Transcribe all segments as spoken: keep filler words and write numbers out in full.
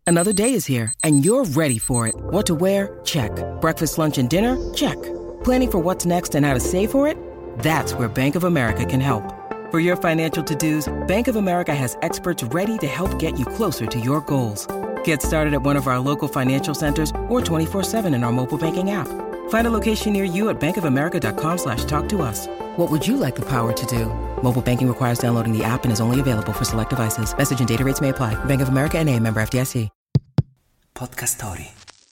Another day is here, and you're ready for it. What to wear? Check. Breakfast, lunch, and dinner? Check. Planning for what's next and how to save for it? That's where Bank of America can help. For your financial to-dos, Bank of America has experts ready to help get you closer to your goals. Get started at one of our local financial centers or twenty-four seven in our mobile banking app. Find a location near you at bankofamerica.com slash talk to us. What would you like the power to do? Mobile banking requires downloading the app and is only available for select devices. Message and data rates may apply. Bank of America N A, member F D I C. Podcast Story.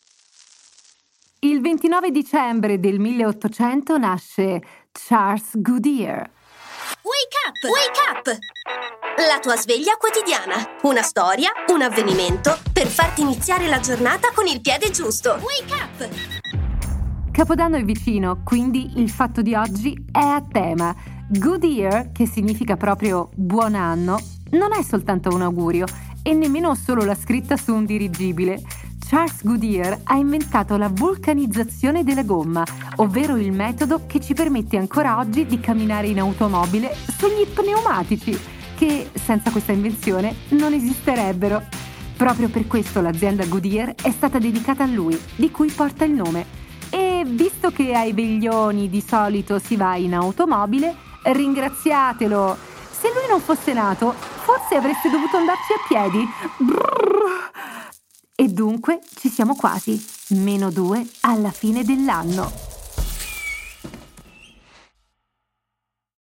Il ventinove dicembre del milleottocento nasce Charles Goodyear. Wake up! Wake up! La tua sveglia quotidiana. Una storia, un avvenimento per farti iniziare la giornata con il piede giusto. Wake up! Capodanno è vicino, quindi il fatto di oggi è a tema. Goodyear, che significa proprio buon anno, non è soltanto un augurio e nemmeno solo la scritta su un dirigibile. Charles Goodyear ha inventato la vulcanizzazione della gomma, ovvero il metodo che ci permette ancora oggi di camminare in automobile sugli pneumatici, che senza questa invenzione non esisterebbero. Proprio per questo l'azienda Goodyear è stata dedicata a lui, di cui porta il nome. E visto che ai veglioni di solito si va in automobile, ringraziatelo. Se lui non fosse nato, forse avreste dovuto andarci a piedi. Brrr. E dunque ci siamo quasi, meno due alla fine dell'anno.